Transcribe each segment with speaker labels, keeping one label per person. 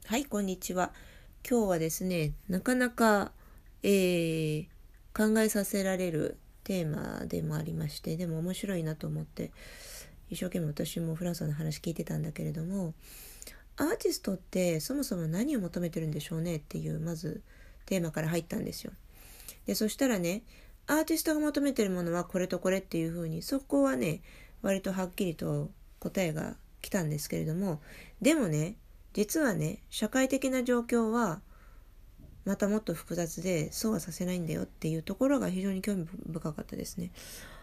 Speaker 1: はい、こんにちは。今日はですね、なかなか、考えさせられるテーマでもありまして、でも面白いなと思って、一生懸命私もフランスの話聞いてたんだけれども、アーティストってそもそも何を求めてるんでしょうねっていう、まずテーマから入ったんですよ。で、そしたらね、アーティストが求めてるものはこれとこれっていうふうに、そこはね、割とはっきりと答えが来たんですけれども、でもね、実はね、社会的な状況はまたもっと複雑で、そうはさせないんだよっていうところが非常に興味深かったですね。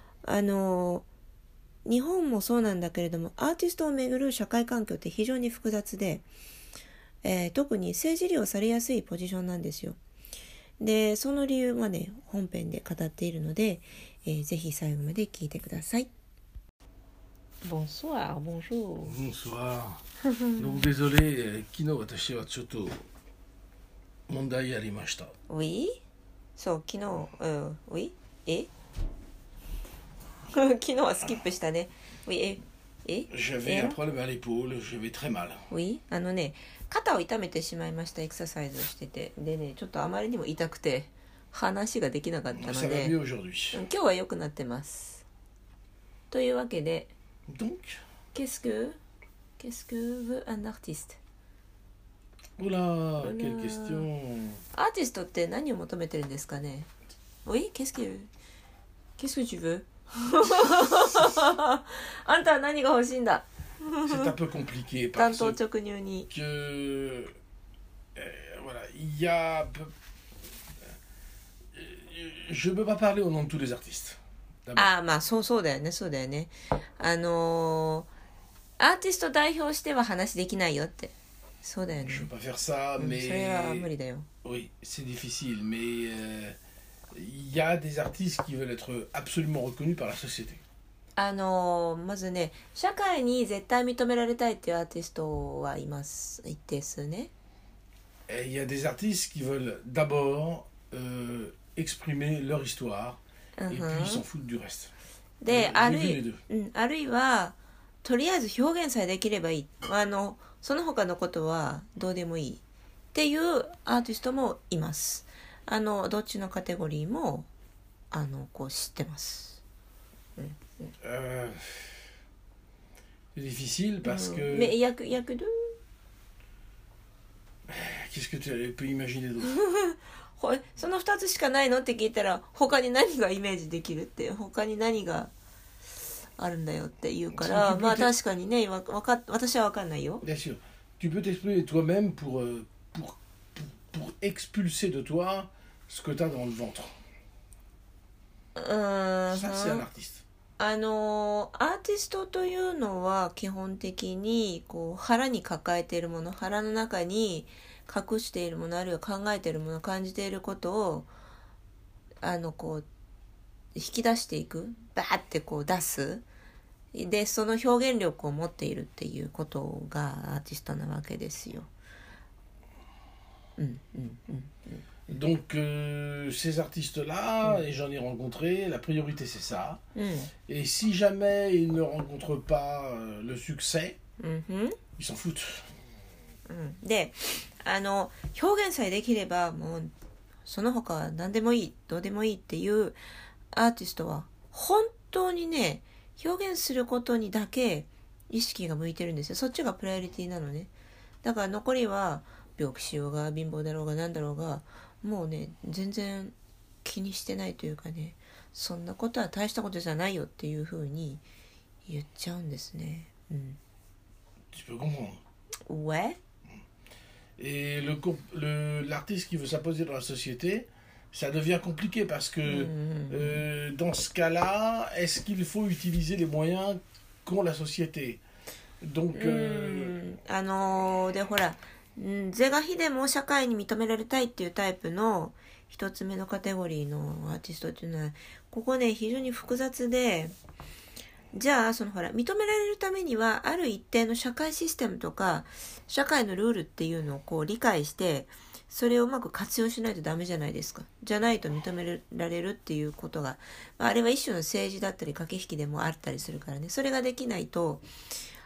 Speaker 1: 日本もそうなんだけれども、アーティストをめぐる社会環境って非常に複雑で、特に政治利用されやすいポジションなんですよ。で、その理由はね、本編で語っているので、ぜひ最後まで聞いてください。Bonsoir, bonjour.
Speaker 2: Bonsoir. Donc désolé, 昨日私はちょっと問題ありました。
Speaker 1: Oui? そう、昨日、Oui? 昨日はスキップしたね。Oui?
Speaker 2: J'avais un problème à l'épaule, je vais très mal.
Speaker 1: Oui? 肩を痛めてしまいました。エクササイズをしてて。でね、ちょっとあまりにも痛くて、話ができなかったの
Speaker 2: Ça va
Speaker 1: で、
Speaker 2: mieux aujourd'hui.
Speaker 1: 今日は良くなってます。というわけで、
Speaker 2: Donc,
Speaker 1: Qu'est-ce que veut un artiste?
Speaker 2: oula, quelle question.
Speaker 1: アーティストって何を求めてるんですかね？ Oui? Qu'est-ce que tu veux? あんたは何が欲しいんだ？
Speaker 2: C'est un peu compliqué
Speaker 1: 単
Speaker 2: parce
Speaker 1: 刀直入に。
Speaker 2: que voilà, il y a je ne peux pas parler au nom de tous les artistes. D'abord.
Speaker 1: ああ、まあそうだよね。アーティスト代表しては話できないよって。そうだよね。
Speaker 2: Je ne peux pas faire ça,
Speaker 1: それは無理だよ。
Speaker 2: oui, c'est difficile, mais il y a des artistes qui veulent être absolument reconnus par la société.
Speaker 1: まずね、社会に絶対認められたいっていうアーティストはいます。一定数ね。
Speaker 2: Et il y a des artistes qui veulent d'abord exprimer leur histoire et puis ils s'en foutent du reste.
Speaker 1: で、
Speaker 2: les deux.
Speaker 1: あるいはとりあえず表現さえできればいい。その他のことはどうでもいいっていうアーティストもいます。どっちのカテゴリーもこう知ってます。
Speaker 2: C'est difficile parce que.
Speaker 1: Mais il y a que deux.
Speaker 2: Qu'est-ce que tu peux imaginer d'autre?
Speaker 1: その2つしかないのって聞いたら、他に何がイメージできるって、他に何があるんだよって言うから、まあ確かにね、私は分かんないよ。
Speaker 2: Bien sûr. Tu peux t'exprimer toi-même pour expulser de toi ce que tu as dans le ventre. Ça, c'est un artiste.
Speaker 1: アーティストというのは基本的にこう腹に抱えているもの、腹の中に隠しているもの、あるいは考えているもの、感じていることをこう引き出していく、バーってこう出す。で、その表現力を持っているっていうことがアーティストなわけですよ。
Speaker 2: Donc ces artistes-là, et j'en ai rencontré, la priorité c'est ça. Et si jamais ils ne rencontrent pas le succès, ils s'en foutent.
Speaker 1: で、表現さえできればもうその他は何でもいい、どうでもいいっていうアーティストは本当にね、表現することにだけ意識が向いてるんですよ。そっちがプライオリティなのね。だから残りは病気しようが貧乏だろうが何だろうが、もうね、全然気にしてないというかね、そんなことは大したことじゃないよっていうふうに言っちゃうんですね。
Speaker 2: Tu peux comprendre.
Speaker 1: Ouais.
Speaker 2: Et l'artiste qui veut s'imposer dans la société, ça devient compliqué parce que dans ce cas-là, est-ce qu'il faut utiliser les moyens qu'ont la société? Donc,
Speaker 1: でほら、是が非でも社会に認められたいっていうタイプの一つ目のカテゴリーのアーティストっていうのは、ここね、非常に複雑で、じゃあほら、認められるためにはある一定の社会システムとか社会のルールっていうのをこう理解して、それをうまく活用しないとダメじゃないですか。じゃないと認められるっていうことが、あれは一種の政治だったり駆け引きでもあったりするからね。それができないと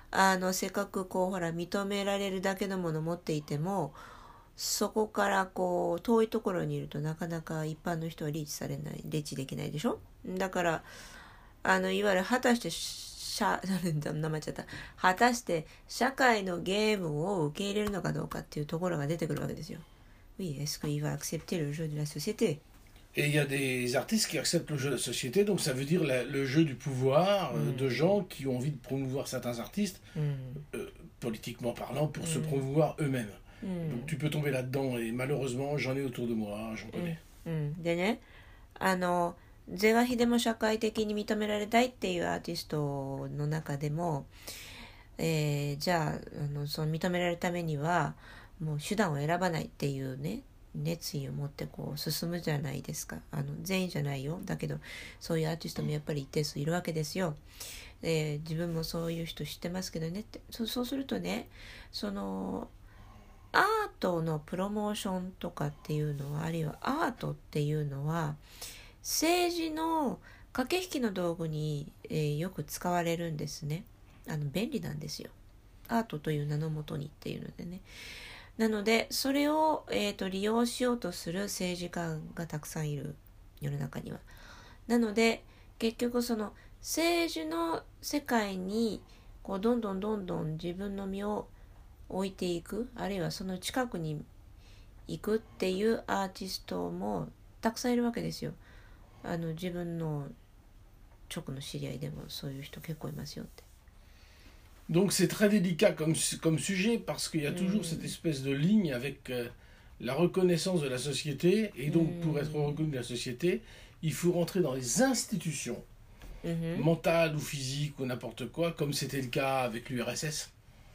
Speaker 1: せっかくこうほら認められるだけのものを持っていても、そこからこう遠いところにいるとなかなか一般の人はリーチされない、リーチできないでしょ。だからいわゆる果たして名前ちゃった、果たして社会のゲームを受け入れるのかどうかっていうところが出てくるわけですよ。Oui, est-ce qu'il va accepter le jeu de la société?
Speaker 2: Et il y a des artistes qui acceptent le jeu de la société, donc ça veut dire le jeu du pouvoir de gens qui ont envie de promouvoir certains artistes, politiquement parlant, pour se promouvoir eux-mêmes. Donc tu peux tomber là-dedans, et malheureusement, j'en ai autour de moi, j'en connais.
Speaker 1: でね、是が非でも社会的に認められたいっていうアーティストの中でも、じゃあ、その認められるためにはもう手段を選ばないっていうね熱意を持ってこう進むじゃないですか。全員じゃないよ、だけどそういうアーティストもやっぱり一定数いるわけですよ。自分もそういう人知ってますけどねって。そうするとね、そのアートのプロモーションとかっていうのは、あるいはアートっていうのは政治の駆け引きの道具に、よく使われるんですね。便利なんですよ、アートという名のもとにっていうのでね。なのでそれを、利用しようとする政治家がたくさんいる、世の中には。なので結局その政治の世界にこうどんどん自分の身を置いていく、あるいはその近くに行くっていうアーティストもたくさんいるわけですよ。自分の直の知り合いでもそういう人結構いますよって。
Speaker 2: Donc c'est très délicat comme sujet, parce qu'il y a toujours cette espèce de ligne avec la reconnaissance de la société, et donc pour être reconnu de la société, il faut rentrer dans les institutions mentales ou physiques ou n'importe quoi, comme c'était le cas avec l'URSS.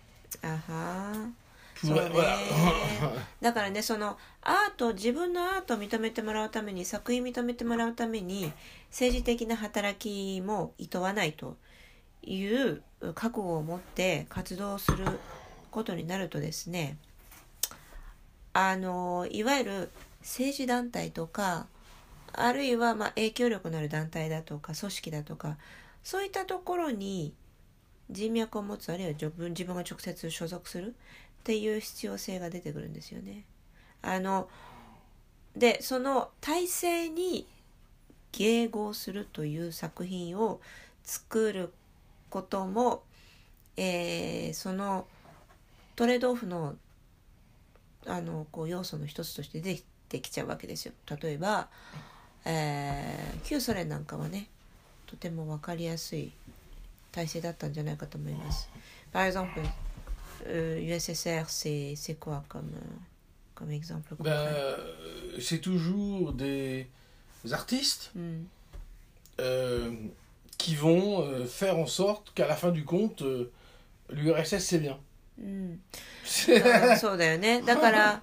Speaker 1: そうね。だからね、その自分のアートを認めてもらうために、作品認めてもらうために政治的な働きも厭わないという覚悟を持って活動することになるとですね、いわゆる政治団体とか、あるいは影響力のある団体だとか組織だとか、そういったところに人脈を持つ、あるいは自分が直接所属するっていう必要性が出てくるんですよね。でその体制に迎合するという作品を作ることも、そのトレードオフのこう要素の一つとして出てきちゃうわけですよ。例えば、旧ソ連なんかはね、とても分かりやすい体制だったんじゃないかと思います。Par exemple, USSR, c'est quoi comme exemple concret?
Speaker 2: C'est toujours des artistes qui vont faire en sorte qu'à la fin du compte, l'URSS c'est bien.
Speaker 1: そうだよね。だから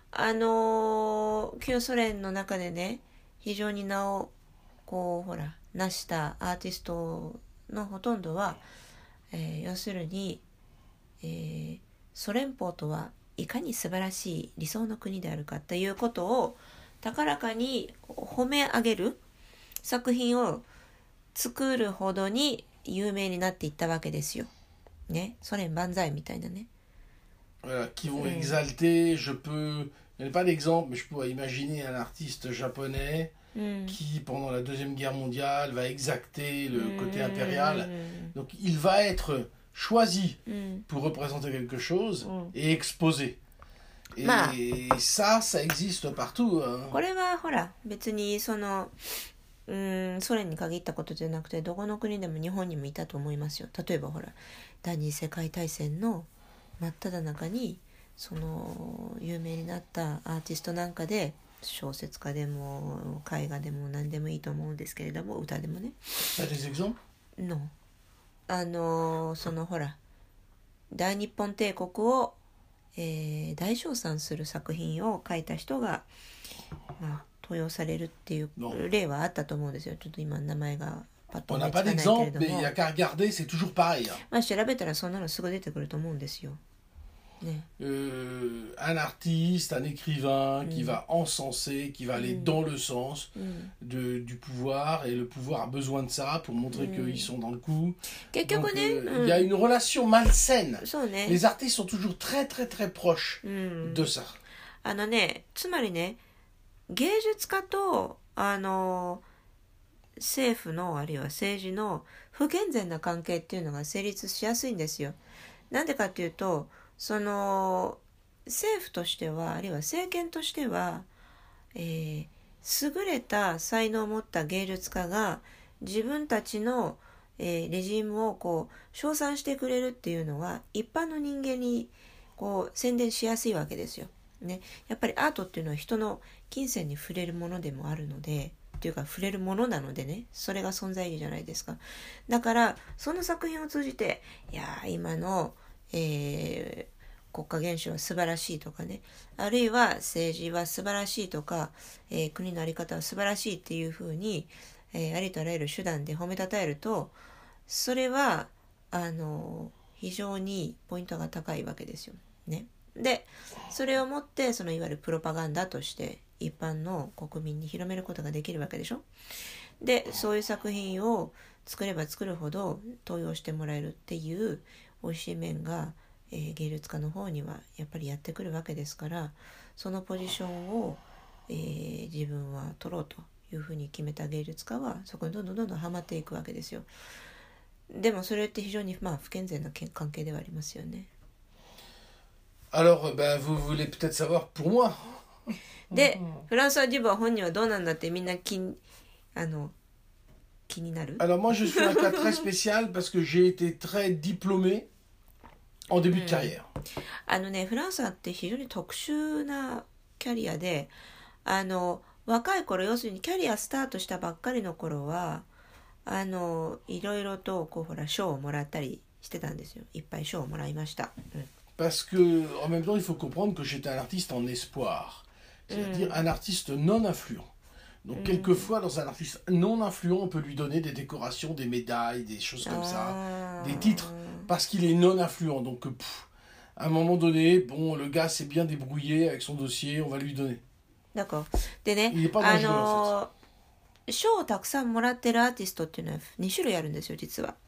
Speaker 1: 旧ソ連の中でね、非常に名をこうほら成したアーティストのほとんどは、要するに、ソ連邦とはいかに素晴らしい理想の国であるかということを高らかに褒め上げる作品を作るほどに有名になっていったわけですよ。ね、ソ連万歳みたいなね。
Speaker 2: Voilà, qui vont exalter, il n'y a pas d'exemple, mais je peux imaginer un artiste japonais qui, pendant la Deuxième Guerre mondiale, va exacter le côté impérial. Donc il va être choisi pour représenter quelque chose et exposé. Et ça existe partout.
Speaker 1: これはほら、別にそのソ連に限ったことじゃなくて、どこの国でも日本にもいたと思いますよ。例えばほら、第二次世界大戦の真っ只中にその有名になったアーティストなんかで、小説家でも絵画でも何でもいいと思うんですけれども、歌でもね。そのほら、大日本帝国を、大称賛する作品を書いた人が、登用されるっていう例はあったと思うんですよ。ちょっと今名前がパッと思いつかないけれども。
Speaker 2: 調べた
Speaker 1: らそんなのすぐ出てくると思うんですよ。ね、
Speaker 2: un artiste, un écrivain qui va encenser, qui va aller dans le sens du pouvoir, et le pouvoir a besoin de ça pour montrer qu'ils sont dans le coup. Donc, il y a une relation malsaine. Les artistes sont toujours très très très proches de ça.
Speaker 1: つまりね、芸術家と政府のあるいは政治の不健全な関係っていうのが成立しやすいんですよ。なんでかっていうと、その政府としてはあるいは政権としては、優れた才能を持った芸術家が自分たちの、レジームをこう称賛してくれるっていうのは一般の人間にこう宣伝しやすいわけですよ。ね、やっぱりアートっていうのは人の金銭に触れるものでもあるので、っていうか触れるものなのでね、それが存在意義じゃないですか。だからその作品を通じて、いや今の、国家元首は素晴らしいとかね、あるいは政治は素晴らしいとか、国の在り方は素晴らしいっていうふうに、ありとあらゆる手段で褒めたたえると、それは非常にポイントが高いわけですよね。でそれをもってそのいわゆるプロパガンダとして一般の国民に広めることができるわけでしょ。でそういう作品を作れば作るほど登用してもらえるっていう美味しい面が、芸術家の方にはやっぱりやってくるわけですから、そのポジションを、自分は取ろうというふうに決めた芸術家はそこにどんどんはまっていくわけですよ。でもそれって非常に不健全な関係ではありますよね。
Speaker 2: Alors, vous voulez peut-être savoir pour moi.
Speaker 1: で、フランソワ・デュボワ本人はどうなんだってみんな気になる。
Speaker 2: Alors moi je suis un cas très spécial parce que j'ai été très diplômé en début de carrière.
Speaker 1: フランソワって非常に特殊なキャリアで、若い頃、要するにキャリアスタートしたばっかりの頃はいろいろとこうほら賞をもらったりしてたんですよ。いっぱい賞をもらいました。
Speaker 2: Parce que, en même temps, il faut comprendre que j'étais un artiste en espoir, c'est-à-dire un artiste non influent. Donc, quelquefois, dans un artiste non influent, on peut lui donner des décorations, des médailles, des choses comme ça, des titres, parce qu'il est non influent. Donc, à un moment donné, bon, le gars s'est bien débrouillé avec son dossier, on va lui donner.
Speaker 1: D'accord. でね、
Speaker 2: il n'est pas dangereux, en fait.
Speaker 1: 賞をたくさんもらってるアーティストっていうのは2種類あるんですよ、実は。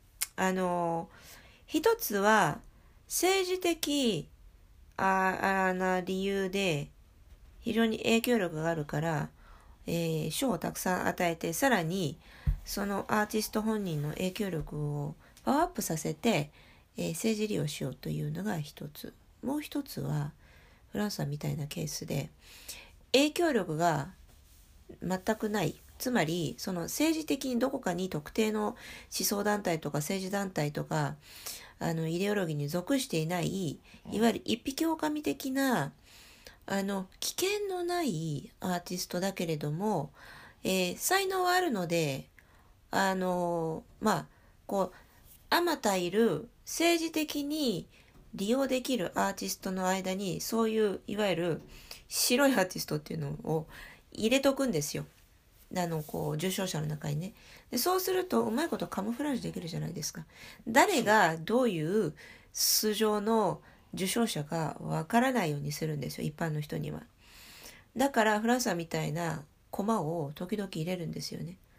Speaker 1: 一つは政治的な理由で非常に影響力があるから、賞をたくさん与えて、さらにそのアーティスト本人の影響力をパワーアップさせて、政治利用しようというのが一つ。もう一つはフランスみたいなケースで影響力が全くない、つまりその政治的にどこかに特定の思想団体とか政治団体とかイデオロギーに属していない、いわゆる一匹狼的な危険のないアーティストだけれども、才能はあるのでこうあまたいる政治的に利用できるアーティストの間にそういういわゆる白いアーティストっていうのを入れとくんですよ。こう受賞者の中にね。でそうするとうまいことカモフラージュできるじゃないですか。誰がどういう素性の受賞者かわからないようにするんですよ、一般の人には。だからフランスみたいなコマを時々入れるんですよね。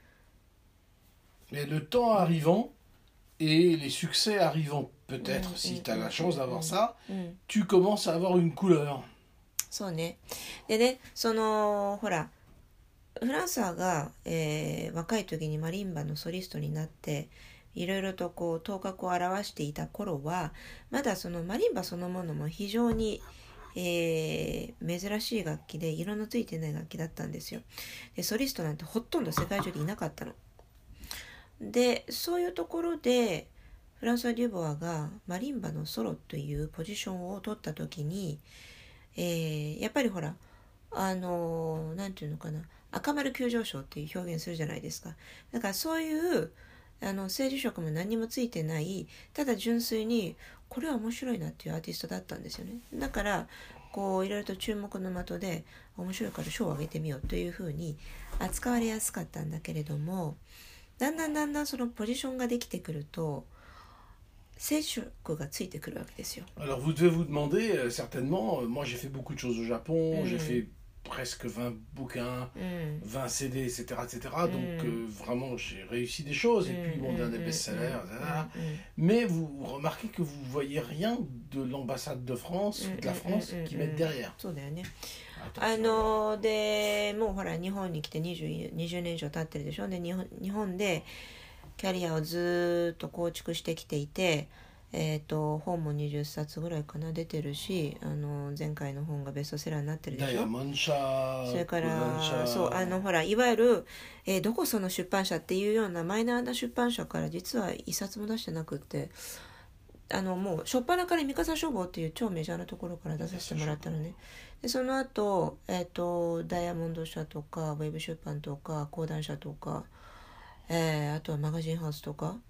Speaker 2: Mais le temps arrivant et les succès arrivant peut-être, si tu as la chance d'avoir ça, tu commences à avoir une couleur.
Speaker 1: そうね。でね、ほらフランサーが、若い時にマリンバのソリストになっていろいろとこう頭角を現していた頃はまだそのマリンバそのものも非常に、珍しい楽器で色のついてない楽器だったんですよ。でソリストなんてほとんど世界中でいなかったの。でそういうところでフランソワ・デュボワがマリンバのソロというポジションを取った時に、やっぱりほらなんていうのかな、赤丸急上昇っていう表現するじゃないですか。だからそういう政治色も何もついてない、ただ純粋にこれは面白いなっていうアーティストだったんですよね。だからこういろいろと注目の的で面白いから賞をあげてみようというふうに扱われやすかったんだけれども、だんだんそのポジションができてくると聖書がついてくるわけですよ。
Speaker 2: Alors vous devez vous demander, certainement, moi j'ai fait beaucoup de choses au Japon, j'ai fait presque 20 bouquins, 20 CD, etc. etc. Donc vraiment j'ai réussi des choses, et puis bon, des best-sellers, etc. Mais vous remarquez que vous voyez rien de l'ambassade de France ou de la France qui mettent derrière.
Speaker 1: そうだよね。でもうほら日本に来て20年以上経ってるでしょ。で日本でキャリアをずっと構築してきていて、本も20冊ぐらいかな出てるし、前回の本がベストセラーになってるでしょ。
Speaker 2: ダイヤモンド社、
Speaker 1: それからそうほらいわゆる、どこその出版社っていうようなマイナーな出版社から実は一冊も出してなくって、もう初っ端から三笠書房っていう超メジャーなところから出させてもらったのね。でその後、ダイヤモンド社とかウェブ出版とか講談社とか、あとはマガジンハウスとか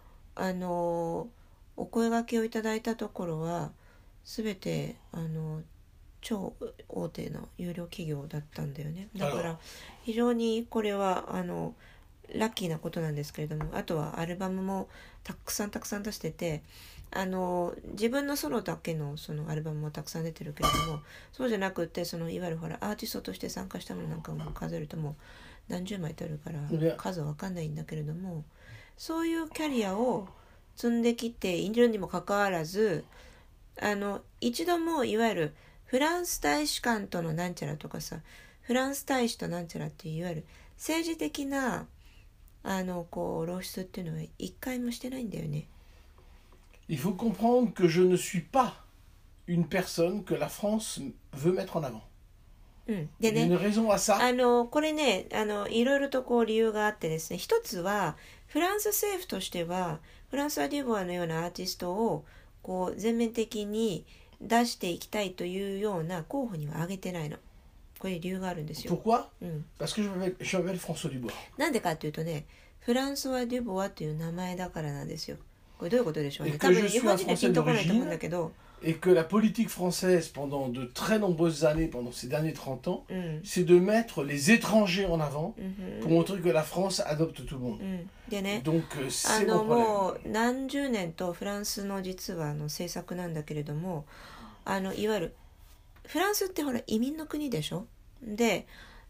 Speaker 1: お声掛けをいただいたところは全て超大手の有料企業だったんだよね。だから非常にこれはラッキーなことなんですけれども、あとはアルバムもたくさん出してて、自分のソロだけのそのアルバムもたくさん出てるけれども、そうじゃなくていわゆるほらアーティストとして参加したものなんかも数えるともう何十枚とあるから数は分かんないんだけれども、そういうキャリアを積んできているにもかかわらず、一度もいわゆるフランス大使館とのなんちゃらとかさ、フランス大使となんちゃらっていういわゆる政治的な露出っていうのは一回もしてないんだよね。
Speaker 2: Il faut comprendre que je ne suis pas une personne que la France veut mettre en avant.
Speaker 1: でね、
Speaker 2: une raison à ça.
Speaker 1: これねいろいろと理由があってですね、一つはフランス政府としてはフランスワ・デュボワのようなアーティストを全面的に出していきたいというような候補には挙げてないの。これ理由があるんですよ。
Speaker 2: Pourquoi? Parce que je m'appelle François Dubois.
Speaker 1: なんでかっていうとね、フランスワ・デュボワという名前だからなんですよ。これどういうことでしょうね。多分日本人でピンとこないと思うんだけど。
Speaker 2: Et que la politique française, pendant de très nombreuses années, pendant ces derniers 30 ans, c'est de mettre les étrangers en avant pour montrer que la France adopte tout le monde.
Speaker 1: でね、
Speaker 2: Donc, c'est mon problème.
Speaker 1: もう何十年とフランスの実は政策なんだけれども、いわゆるフランスってほら移民の国でしょ。で、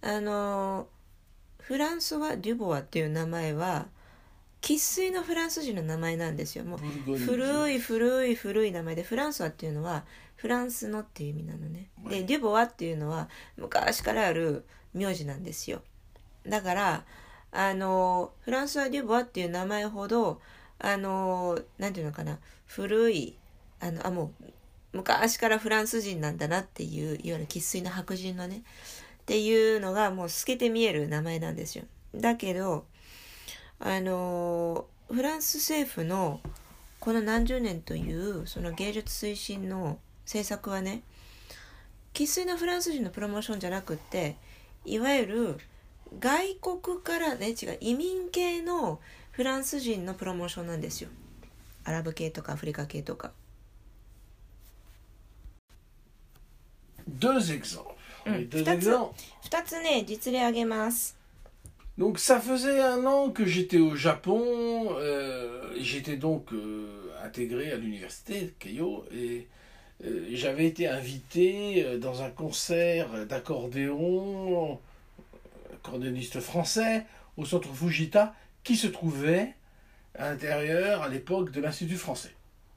Speaker 1: フランソワ・デュボワっていう名前は生粋のフランス人の名前なんですよ。もう古い名前で、フランソワっていうのはフランスのっていう意味なのね。でデュボワっていうのは昔からある名字なんですよ。だからフランソワ・デュボワっていう名前ほどなんていうのかな、古いもう昔からフランス人なんだなっていう、いわゆる生粋の白人のねっていうのがもう透けて見える名前なんですよ。だけどフランス政府のこの何十年というその芸術推進の政策はね、生粋のフランス人のプロモーションじゃなくって、いわゆる外国からね、移民系のフランス人のプロモーションなんですよ。アラブ系とかアフリカ系とか。
Speaker 2: Deux exemples.
Speaker 1: 2つね、実例挙げます。
Speaker 2: Donc ça faisait 1 an que j'étais au Japon, j'étais donc intégré à l'université de Keio, et j'avais été invité dans un concert d'accordéon, accordéoniste français, au centre Fujita, qui se trouvait à l'intérieur à l'époque de l'Institut français.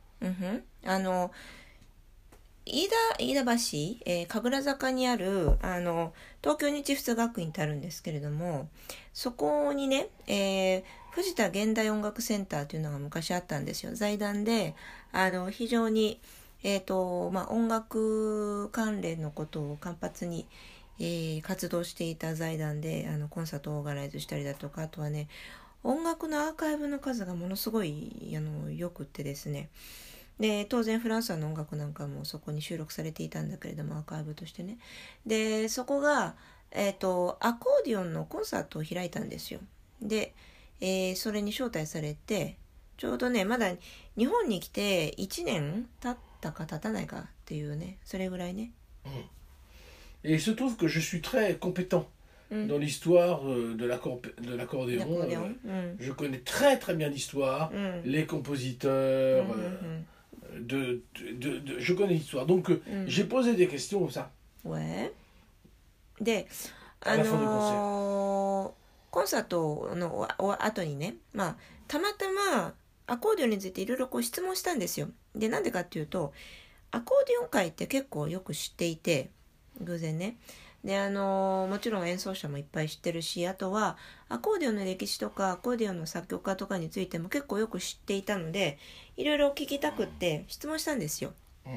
Speaker 1: 飯田橋、神楽坂にある東京日仏学院ってあるんですけれども、そこにね、藤田現代音楽センターというのが昔あったんですよ。財団で非常に、音楽関連のことを活発に、活動していた財団でコンサートをオーガナイズしたりだとか、あとはね音楽のアーカイブの数がものすごいよくってですね、で当然フランスの音楽なんかもそこに収録されていたんだけれども、アーカイブとしてね。でそこが、アコーディオンのコンサートを開いたんですよ。で、それに招待されて、ちょうどねまだ日本に来て1年経ったか経たないかっていうね、それぐらいね。
Speaker 2: Et il se trouve que je suis très compétent dans l'histoire de l'accordéon. Je connais très très bien l'histoire, les compositeurs, je connais l'histoire. Donc j'ai posé des questions comme ça.
Speaker 1: Ouais. で、
Speaker 2: À la fin du
Speaker 1: コンサートの後にね、まあ、たまたまアコーディオンについていろいろ質問したんですよ。で、なんでかっていうと、アコーディオン界って結構よく知っていて、偶然ね。で、もちろん演奏者もいっぱい知ってるし、あとはアコーディオンの歴史とかアコーディオンの作曲家とかについても結構よく知っていたので、いろいろ聞きたくって質問したんですよ。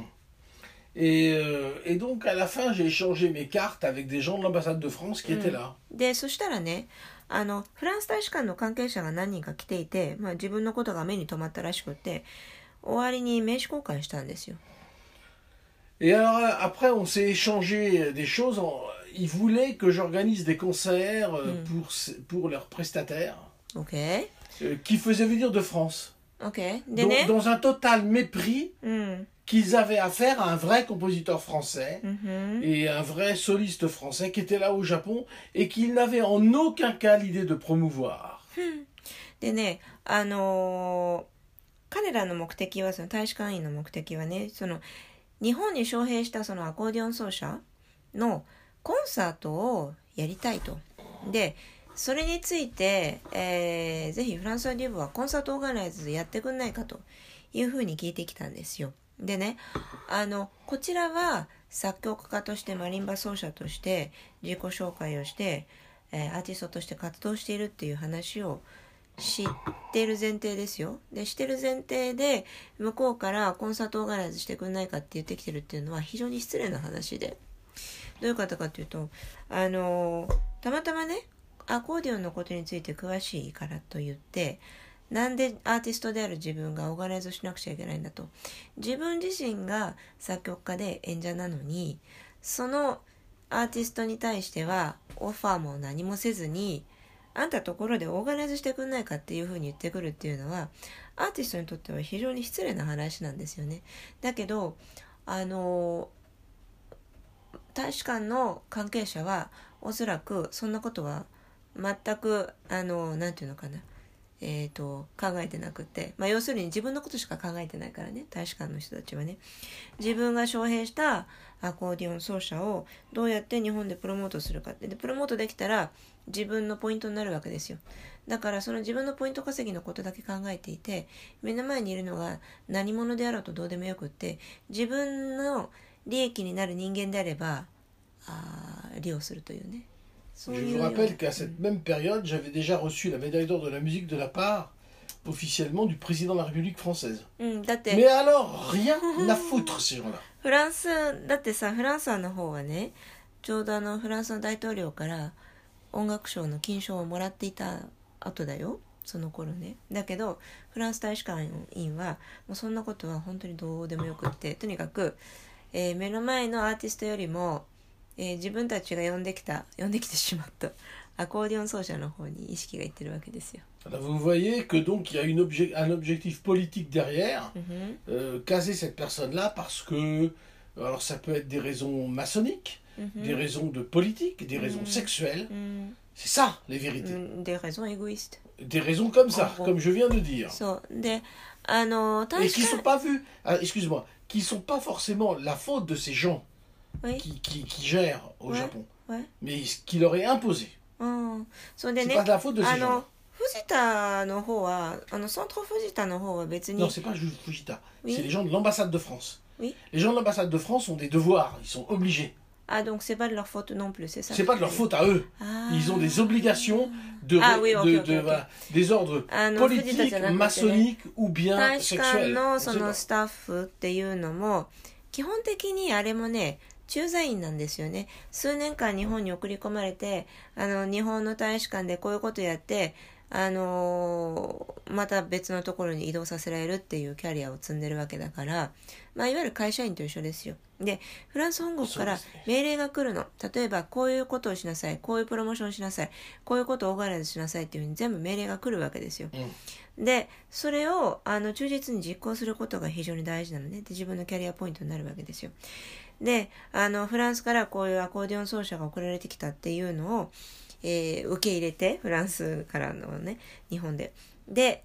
Speaker 2: Et donc à la fin, j'ai échangé mes cartes avec des gens de l'ambassade de France qui étaient là.
Speaker 1: で、そしたらね、フランス大使館の関係者が何人か来ていて、まあ、自分のことが目に留まったらしくて、終わりに名刺交換したんですよ。
Speaker 2: Et alors après, on s'est échangé des choses. Ils voulaient que j'organise des concerts pour leurs prestataires qui faisaient venir de France.
Speaker 1: Deね、
Speaker 2: dans un total mépris qu'ils avaient affaire à un vrai compositeur français et un vrai soliste français qui était là au Japon et qu'ils n'avaient en aucun cas l'idée de promouvoir.
Speaker 1: でね、彼らの目的は、その大使館員の目的はね、その日本に招聘したそのアコーディオン奏者のコンサートをやりたいと。で、それについて、ぜひフランソワ・デュブはコンサートオーガナイズやってくんないかというふうに聞いてきたんですよ。でね、こちらは作曲家としてマリンバ奏者として自己紹介をして、アーティストとして活動しているっていう話を知ってる前提ですよ。で、知ってる前提で向こうからコンサートオーガナイズしてくんないかって言ってきてるっていうのは非常に失礼な話で、どういうことかっていうと、たまたまね、アコーディオンのことについて詳しいからと言って、なんでアーティストである自分がオーガナイズしなくちゃいけないんだと。自分自身が作曲家で演者なのに、そのアーティストに対してはオファーも何もせずに、あんたところでオーガナイズしてくんないかっていうふうに言ってくるっていうのは、アーティストにとっては非常に失礼な話なんですよね。だけど、大使館の関係者はおそらくそんなことは全くなんていうのかな、考えてなくて、まあ、要するに自分のことしか考えてないからね、大使館の人たちはね。自分が招聘したアコーディオン奏者をどうやって日本でプロモートするかって、でプロモートできたら自分のポイントになるわけですよ。だからその自分のポイント稼ぎのことだけ考えていて、目の前にいるのが何者であろうとどうでもよくって、自分の利益になる人間であれば利用するというね。
Speaker 2: Je vous rappelle qu'à cette même période, j'avais déjà reçu la médaille d'or de la musique de la part, officiellement, du président de la République française. Mais alors, rien à foutre, ces gens-là.
Speaker 1: フランス、だってさ、フランスの方はね、ちょうどフランスの大統領から音楽賞の金賞をもらっていた後だよ、その頃ね。だけど、フランス大使館員は、もうそんなことは本当にどうでもよくって、とにかく、目の前のアーティストよりも、自分たちが呼んできてしまったアコーディオン奏者の方に意識がいってるわけですよ。
Speaker 2: Alors vous voyez que donc il y a un objectif politique derrière, caser cette personne-là parce que, alors ça peut être des raisons maçonniques, des raisons de politique, des raisons sexuelles, c'est ça les vérités.
Speaker 1: Des raisons égoïstes.
Speaker 2: Des raisons comme ça, comme je viens de dire.
Speaker 1: そうで、
Speaker 2: et qui sont pas vues, excuse-moi, qui sont pas forcément la faute de ces gens.Oui. Qui gèrent au Japon, mais qui leur est imposé. C'est pas de la faute de ces gens.
Speaker 1: 藤田の方は、ソント藤田の方は別に。
Speaker 2: Non, c'est pas Fujita. C'est les gens de l'ambassade de France. Les gens de l'ambassade de France ont des devoirs, ils sont obligés.
Speaker 1: Ah, donc c'est pas de leur faute non plus, c'est ça?
Speaker 2: C'est pas de leur faute à eux. Ils ont des obligations des ordres politiques, maçonniques ou bien sexuels.
Speaker 1: のそのスタッフっていうのも、基本的にあれもね、駐在員なんですよね。数年間日本に送り込まれて、日本の大使館でこういうことやって、また別のところに移動させられるっていうキャリアを積んでるわけだから、まあ、いわゆる会社員と一緒ですよ。で、フランス本国から命令が来るの。例えば、こういうことをしなさい。こういうプロモーションしなさい。こういうことをオーガナイズしなさいっていうふうに全部命令が来るわけですよ。で、それを忠実に実行することが非常に大事なのね。で、自分のキャリアポイントになるわけですよ。 で、フランスからこういうアコーディオン奏者が送られてきたっていうのを、受け入れて、フランスからのね、日本で。で、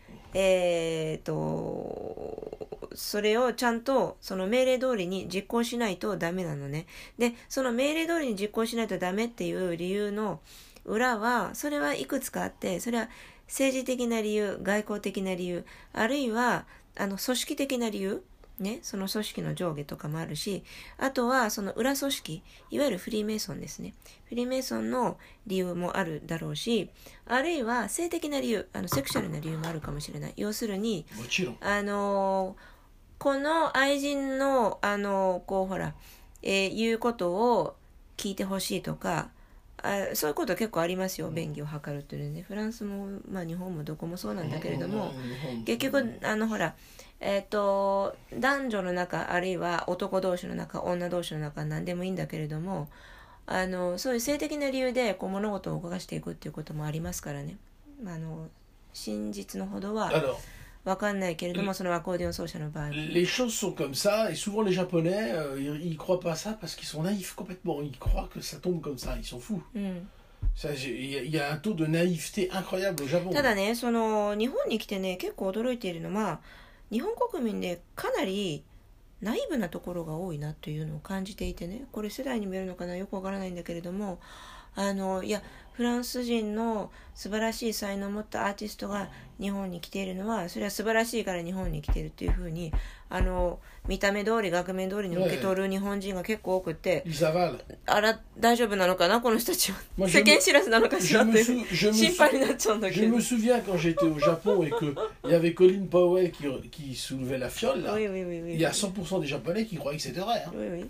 Speaker 1: それをちゃんとその命令通りに実行しないとダメなのね。で、その命令通りに実行しないとダメっていう理由の裏は、それはいくつかあって、それは政治的な理由、外交的な理由、あるいは組織的な理由、ね、その組織の上下とかもあるし、あとはその裏組織、いわゆるフリーメイソンですね。フリーメイソンの理由もあるだろうし、あるいは性的な理由、セクシャルな理由もあるかもしれない。要するに、この愛人のこうほら、言うことを聞いてほしいとか、そういうこと結構ありますよ。便宜を図るっていうね。フランスも、まあ日本もどこもそうなんだけれども、結局ほら、男女の中、あるいは男同士の中、女同士の中、何でもいいんだけれども、そういう性的な理由でこう物事を動かしていくっていうこともありますからね。真実のほどはわかんないけれども、そのアコーディオン奏者の場合。
Speaker 2: Les choses sont comme ça, et souvent les Japonais, ils croient pas ça parce qu'ils sont naïfs complètement. Ils croient que ça tombe comme ça, ils sont fous. Il y a un taux de naïveté incroyable au Japon.
Speaker 1: ただね、その日本に来てね、結構驚いているのは、日本国民でかなりナイーブなところが多いなというのを感じていてね、これ世代に見えるのかな、よくわからないんだけれども、いやフランス人の素晴らしい才能を持ったアーティストが日本に来ているのは、それは素晴らしいから日本に来ているというふうに見た目通り額面通りに受け取る日本人が結構多くて、あら大丈夫なのかなこの人たちは、世間知らずなのかしらって心配になっちゃうんだけど。
Speaker 2: Je me souviens quand j'étais au Japon et que il y avait Colin Powell qui soulevait la fiole là. Il y a 100% des Japonais qui croyaient que c'était vrai.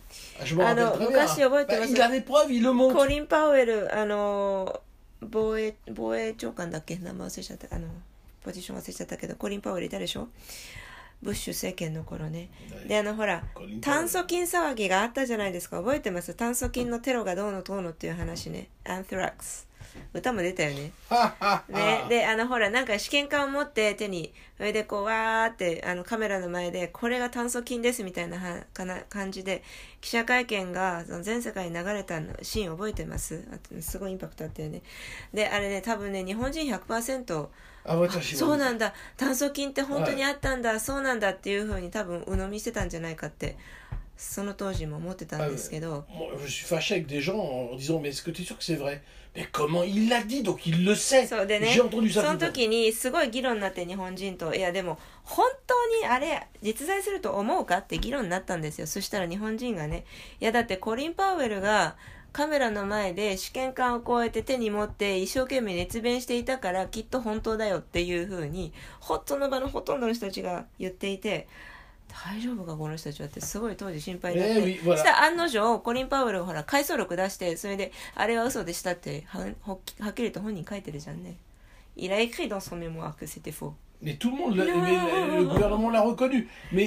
Speaker 2: Je me rappelle très bien. Il a des preuves, il le montre.
Speaker 1: コリン・パウエル防衛長官だっけ、名前忘れちゃった、ポジション忘れちゃったけど、コリン・パウエルいたでしょ、ブッシュ政権の頃ね。でほら炭疽菌騒ぎがあったじゃないですか。覚えてます？炭疽菌のテロがどうのどうのっていう話ね。アントラックス歌も出たよね。ねでほらなんか試験管を持って手に、それでこうわーってカメラの前でこれが炭疽菌ですみたいな感じで記者会見が全世界に流れたシーン覚えてます？すごいインパクトあったよね。であれね、多分ね日本人 100% そうなんだ、炭疽菌って本当にあったんだ、そうなんだっていう風に多分鵜呑みしてたんじゃないかってその当時も思ってたんですけど。
Speaker 2: Je suis fâché avec des gens en disant mais est-ce que tu es sûr que c'est vrai? Mais comment il l'a dit, donc il le sait.
Speaker 1: そうでね、
Speaker 2: J'ai entendu ça.
Speaker 1: その時にすごい議論になって、日本人と、いやでも本当にあれ実在すると思うかって議論になったんですよ。そしたら日本人がね、いやだってコリン・パウエルがカメラの前で試験管をこうやって手に持って一生懸命熱弁していたからきっと本当だよっていう風にその場のほとんどの人たちが言っていて、大丈夫かこの人たちはってすごい当時心配になって、そしたら案の定コリン・パウエルがほら回想録出して、それであれは嘘でしたってはっきりと本人書いてるじゃんね。Il a écrit dans son mémoire que c'était faux.
Speaker 2: Mais tout le monde, le gouvernement l'a reconnu. Mais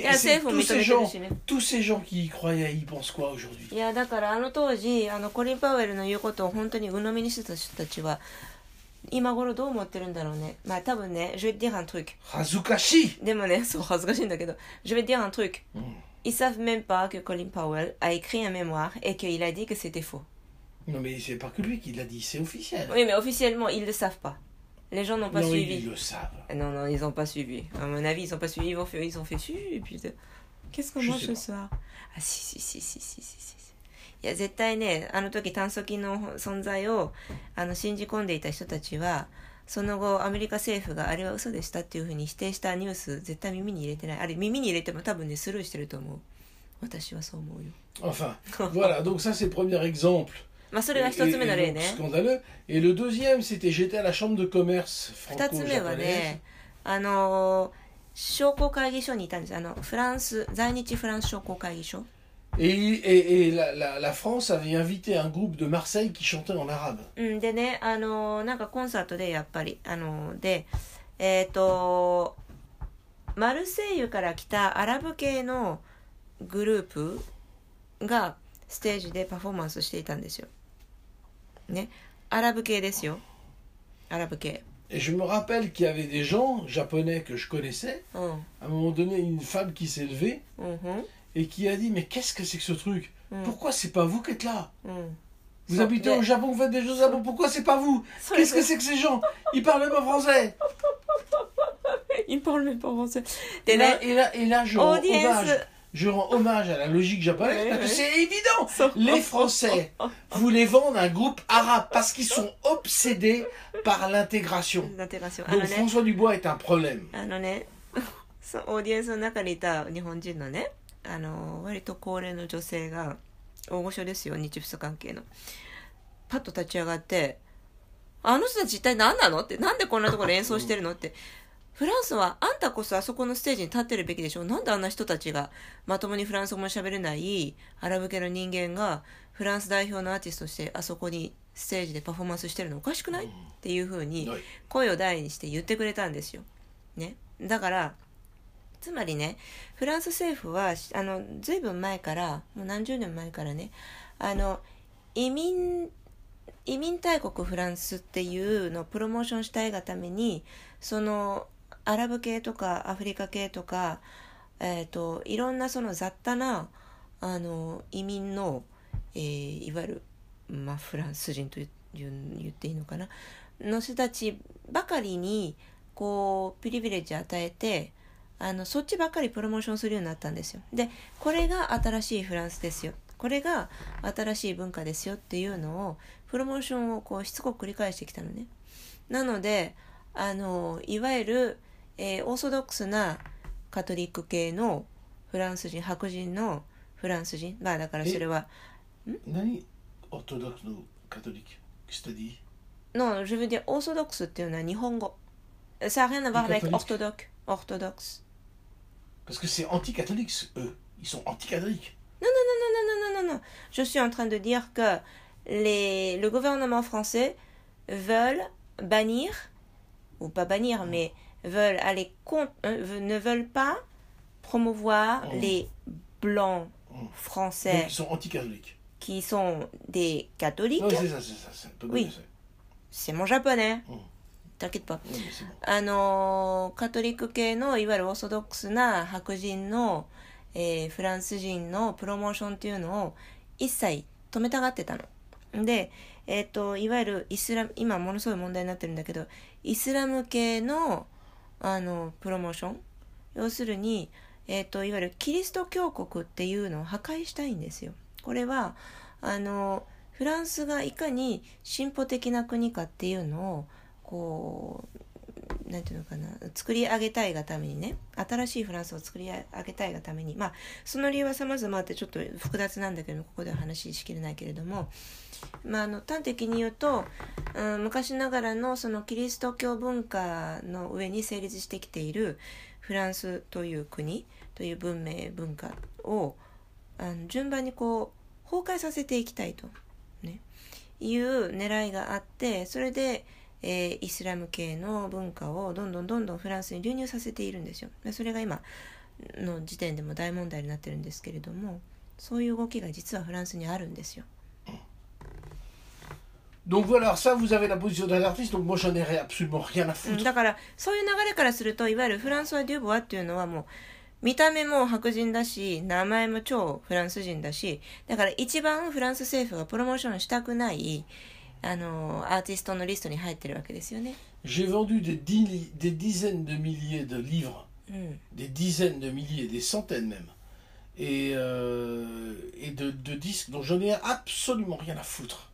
Speaker 2: tous ces gens qui y croyaient, ils pensent quoi aujourd'hui?
Speaker 1: いやだから当時コリン・パウエルの言うことを本当に鵜呑みにしてた人たちは今頃どう思ってるんだろうね。まあ多分ね、je vais te dire un truc.
Speaker 2: 恥ずかしい。
Speaker 1: でもね、そう恥ずかしいんだけど、je vais te dire un truc. Ils savent même pas que Colin Powell a écrit un mémoire et qu'il a dit que c'était faux.
Speaker 2: Non mais c'est pas que lui qui l'a dit, c'est officiel.
Speaker 1: Oui mais officiellement ils le savent pas. Les gens n'ont pas suivi.
Speaker 2: Ils le savent.
Speaker 1: Non, ils ont pas suivi. À mon avis, ils ont pas suivi. Ils ont fait et puis qu'est-ce qu'on mange ce soir? Ah si. いや絶対ね、時炭疽菌の存在を信じ込んでいた人たちは、その後アメリカ政府があれは嘘でしたっていうふうに否定したニュース絶対耳に入れてない。あれ耳に入れても多分ねスルーしてると思う。私はそう思うよ。
Speaker 2: Enfin, voilà, donc ça c'est le premier exemple.
Speaker 1: まあそれが一つ目の例ね。
Speaker 2: Scandaleux. Et le deuxième, c'était j'étais à la chambre de commerce franco-japonaise.
Speaker 1: 二つ目はね、商工会議所にいたんです。フランス在日フランス商工会議所。
Speaker 2: Et la France avait invité un groupe de Marseille qui chantait en arabe.
Speaker 1: でね、なんかコンサートでやっぱりでマルセイユから来たアラブ系のグループがステージでパフォーマンスしていたんですよ。ね、アラブ系ですよ。アラブ系。
Speaker 2: Et je me rappelle qu'il y avait des gens japonais que je connaissais. À un moment donné, une femme qui s'est levée et qui a dit mais qu'est-ce que c'est que ce truc? pourquoi c'est pas vous qui êtes là?
Speaker 1: うん、
Speaker 2: Vous habitez au Japon, vous faites des choses au Japon, pourquoi c'est pas vous? Qu'est-ce que c'est que ces gens? Ils parlent même pas français.
Speaker 1: Ils parlent même pas français.
Speaker 2: Et là, je rends hommage à la logique japonaise,
Speaker 1: Ouais,
Speaker 2: parce que
Speaker 1: ouais.
Speaker 2: c'est évident. Les Français voulaient vendre un groupe arabe parce qu'ils sont obsédés par l'intégration.
Speaker 1: l'intégration.
Speaker 2: Donc François Dubois est un problème.
Speaker 1: そうオーディエンスの中にいた日本人のね、割と高齢の女性が、大御所ですよ、日仏関係の。パッと立ち上がって、あの人たち一体何なのって、なんでこんなところで演奏してるのって、フランスはあんたこそあそこのステージに立ってるべきでしょ。なんであんな人たちがまともにフランス語も喋れないアラブ系の人間がフランス代表のアーティストとしてあそこにステージでパフォーマンスしてるのおかしくない、っていう風に声を大にして言ってくれたんですよ。ね。だから、つまりね、フランス政府はずいぶん前から、もう何十年前からね、移民大国フランスっていうのをプロモーションしたいがために、そのアラブ系とかアフリカ系とか、いろんなその雑多な移民の、いわゆる、フランス人と言っていいのかなの人たちばかりにこうプリビレッジ与えて、そっちばっかりプロモーションするようになったんですよ。で、これが新しいフランスですよ、これが新しい文化ですよっていうのをプロモーションをこうしつこく繰り返してきたのね。なのでいわゆる、オーソドックスなカトリック系のフランス人、白人のフランス人、だからそれは
Speaker 2: 何オーソドックスのカトリック
Speaker 1: の自分でオーソドックスっていうのは日本語。Ça n'a rien à voir avec orthodoxe.
Speaker 2: Parce que c'est anti-catholique, eux. Ils sont anti-catholiques.
Speaker 1: Non. Je suis en train de dire que le gouvernement français veulent bannir, ou pas bannir, mais veulent aller ne veulent pas promouvoir les blancs français.
Speaker 2: Donc ils sont anti-catholiques.
Speaker 1: Qui sont des catholiques.
Speaker 2: Oui, c'est ça. C'est un peu
Speaker 1: oui, c'est mon japonais. t'inquiète pas。カトリック系のいわゆるオーソドックスな白人の、フランス人のプロモーションっていうのを一切止めたがってたの。で、いわゆる今ものすごい問題になってるんだけど、イスラム系のプロモーション、要するに、いわゆるキリスト教国っていうのを破壊したいんですよ。これはフランスがいかに進歩的な国かっていうのをこうなんていうのかな、作り上げたいがためにね、新しいフランスを作り上げたいがために、その理由は様々あってちょっと複雑なんだけども、ここでは話しきれないけれども、端的に言うと、昔ながらのそのキリスト教文化の上に成立してきているフランスという国という文明文化を順番にこう崩壊させていきたいと、ね、いう狙いがあって、それでイスラム系の文化をどんどんフランスに流入させているんですよ。それが今の時点でも大問題になってるんですけれども、そういう動きが実はフランスにあるんですよ。
Speaker 2: Donc voilà, ça vous avez la position d'un artiste, donc moi j'en ai absolument rien à foutre.
Speaker 1: だからそういう流れからすると、いわゆるフランソワ・デュボワっていうのはもう見た目も白人だし、名前も超フランス人だし、だから一番フランス政府がプロモーションしたくないアーティストのリストに入ってるわけですよね。
Speaker 2: J'ai vendu des dizaines de milliers de livres, des dizaines de milliers, des centaines même, et de disques dont j'en ai absolument rien à foutre.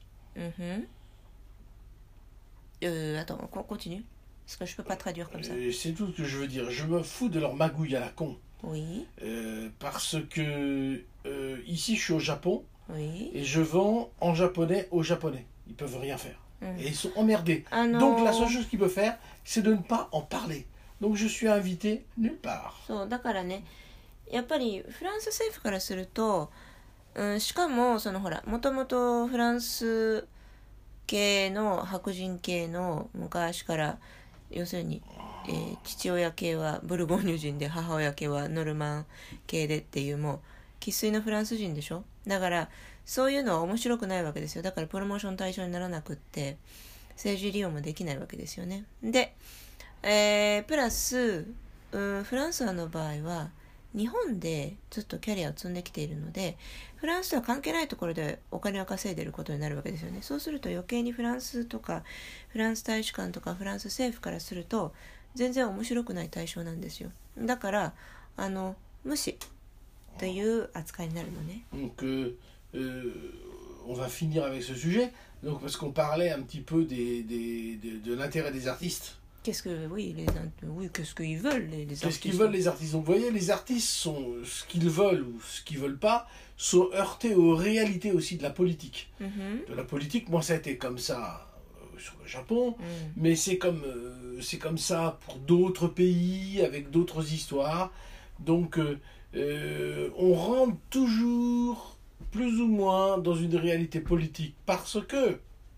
Speaker 1: Attends, continue, parce que je peux pas traduire comme ça.
Speaker 2: C'est tout ce que je veux dire. Je me fous de leur magouille à la con.
Speaker 1: Oui.
Speaker 2: Parce que ici je suis au Japon,
Speaker 1: oui.
Speaker 2: Et je vends en japonais aux japonais. Ils peuvent rien faire. Et ils sont emmerdés. Donc la seule chose qu'ils peuvent faire, c'est de ne pas en parler. Donc je suis invité nulle part.
Speaker 1: そうだからね、やっぱりフランス政府からすると、しかもそのほら、もともとフランス系の白人系の昔から要するに、父親系はブルゴーニュ人で母親系はノルマン系でっていうもう生粋のフランス人でしょ。だからそういうのは面白くないわけですよ。だからプロモーション対象にならなくって政治利用もできないわけですよね。で、プラスフランスの場合は日本でずっとキャリアを積んできているので、 フランスとは関係ないところでお金を稼いでることになるわけですよね。そうすると余計にフランスとかフランス大使館とかフランス政府からすると全然面白くない対象なんですよ。だから無視という扱いになるのね。
Speaker 2: Donc, on va finir avec ce sujet, donc, parce qu'on parlait un petit peu de l'intérêt des artistes.
Speaker 1: Qu'est-ce que oui, qu'est-ce qu'ils veulent les artistes.
Speaker 2: Qu'est-ce qu'ils veulent les artistes? Donc vous voyez, les artistes sont ce qu'ils veulent ou ce qu'ils veulent pas, sont heurtés aux réalités aussi de la politique. De la politique, moi ça a été comme ça sur le Japon, mais c'est comme ça pour d'autres pays avec d'autres histoires. Donc on rentre toujours plus ou moins dans une réalité politique parce que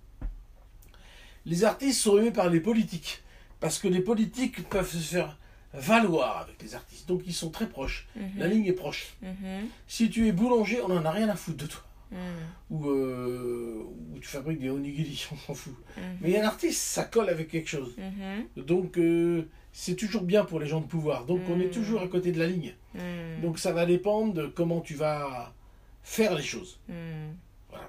Speaker 2: les artistes sont aimés par les politiques. Parce que les politiques peuvent se faire valoir avec les artistes. Donc ils sont très proches. La ligne est proche. Si tu es boulanger, on n'en a rien à foutre de toi. Ou tu fabriques des onigiri, on s'en fout. Mais un artiste, ça colle avec quelque chose. Donc c'est toujours bien pour les gens de pouvoir. Donc on est toujours à côté de la ligne. Donc ça va dépendre de comment tu vas faire les choses. Voilà.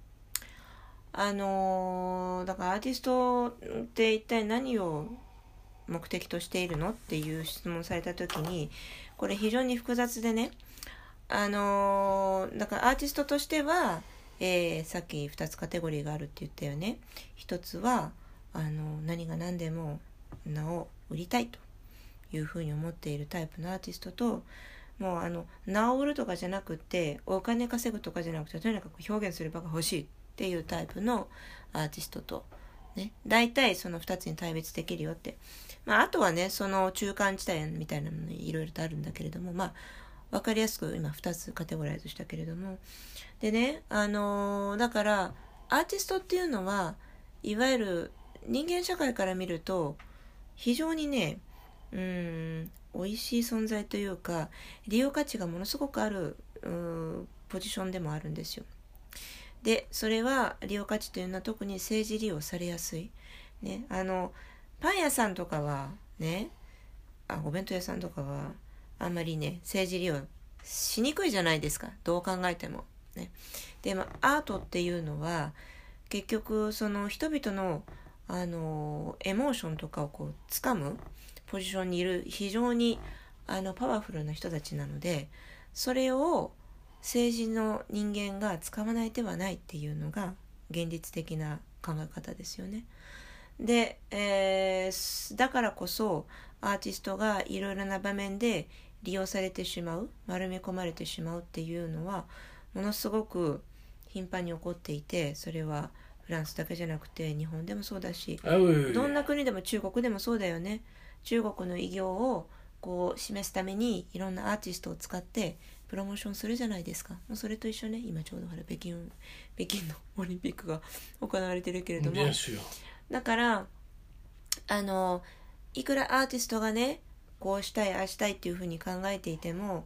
Speaker 1: だからアーティストって一体何を目的としているのっていう質問された時に、これ非常に複雑でね、だからアーティストとしては、さっき2つカテゴリーがあるって言ったよね。一つは何が何でも名を売りたいというふうに思っているタイプのアーティストと、もう名を売るとかじゃなくてお金稼ぐとかじゃなくてとにかく表現する場が欲しいっていうタイプのアーティストと、ね、大体その2つに対別できるよって、あとはねその中間地帯みたいなのにいろいろとあるんだけれども、分かりやすく今2つカテゴライズしたけれども、でねだからアーティストっていうのはいわゆる人間社会から見ると非常にね美味しい存在というか利用価値がものすごくあるポジションでもあるんですよ。でそれは利用価値というのは特に政治利用されやすい、ね、パン屋さんとかはねお弁当屋さんとかはあんまりね政治利用しにくいじゃないですか、どう考えても、ね、でアートっていうのは結局その人々のエモーションとかをこう掴むポジションにいる非常にパワフルな人たちなので、それを政治の人間が使わない手はないっていうのが現実的な考え方ですよね。で、だからこそアーティストがいろいろな場面で利用されてしまう、丸め込まれてしまうっていうのはものすごく頻繁に起こっていて、それはフランスだけじゃなくて日本でもそうだし、どんな国でも中国でもそうだよね。中国の偉業をこう示すためにいろんなアーティストを使ってプロモーションするじゃないですか。もうそれと一緒ね。今ちょうど北京のオリンピックが行われてるけれども、だからいくらアーティストがねこうしたいああしたいっていうふうに考えていても、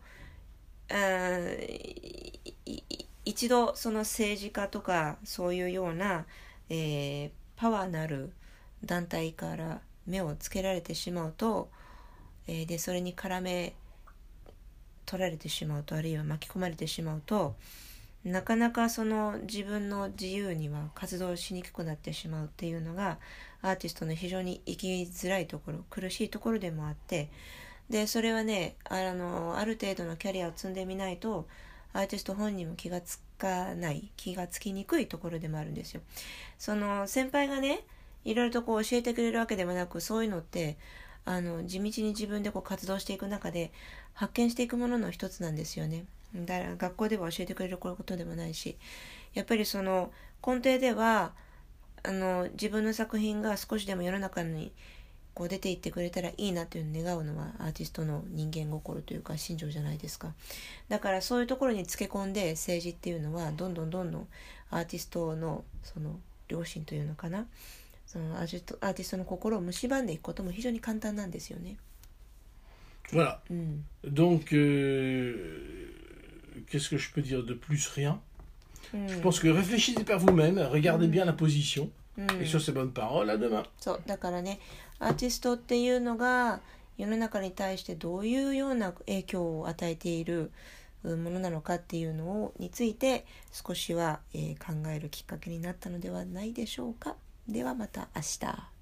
Speaker 1: 一度その政治家とかそういうような、パワーのある団体から目をつけられてしまうと、でそれに絡め取られてしまうと、あるいは巻き込まれてしまうと、なかなかその自分の自由には活動しにくくなってしまうっていうのがアーティストの非常に生きづらいところ、苦しいところでもあって、でそれはねある程度のキャリアを積んでみないとアーティスト本人も気がつきにくいところでもあるんですよ。その先輩がねいろいろとこう教えてくれるわけでもなく、そういうのって地道に自分でこう活動していく中で発見していくものの一つなんですよね。だから学校では教えてくれることでもないし、やっぱりその根底では自分の作品が少しでも世の中にこう出ていってくれたらいいなというのを願うのはアーティストの人間心というか心情じゃないですか。だからそういうところにつけ込んで政治っていうのはどんどんアーティストのその良心というのかな、そのアーティストの心を蝕んでいくことも非常に簡単なんですよね。
Speaker 2: Voilà. Donc, qu'est-ce que je peux dire de plus? Rien. Je pense que réfléchissez par vous-même, regardez bien la position, et sur ces bonnes paroles, à demain.
Speaker 1: そうだからね、アーティストっていうのが世の中に対してどういうような影響を与えているものなのかっていうのについて少しは、考えるきっかけになったのではないでしょうか。ではまた明日。